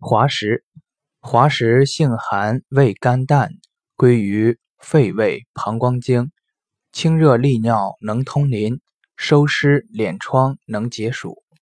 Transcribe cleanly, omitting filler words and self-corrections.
滑石，滑石性寒，味甘淡，归于肺胃膀胱经，清热利尿，能通淋，收湿敛疮，能解暑。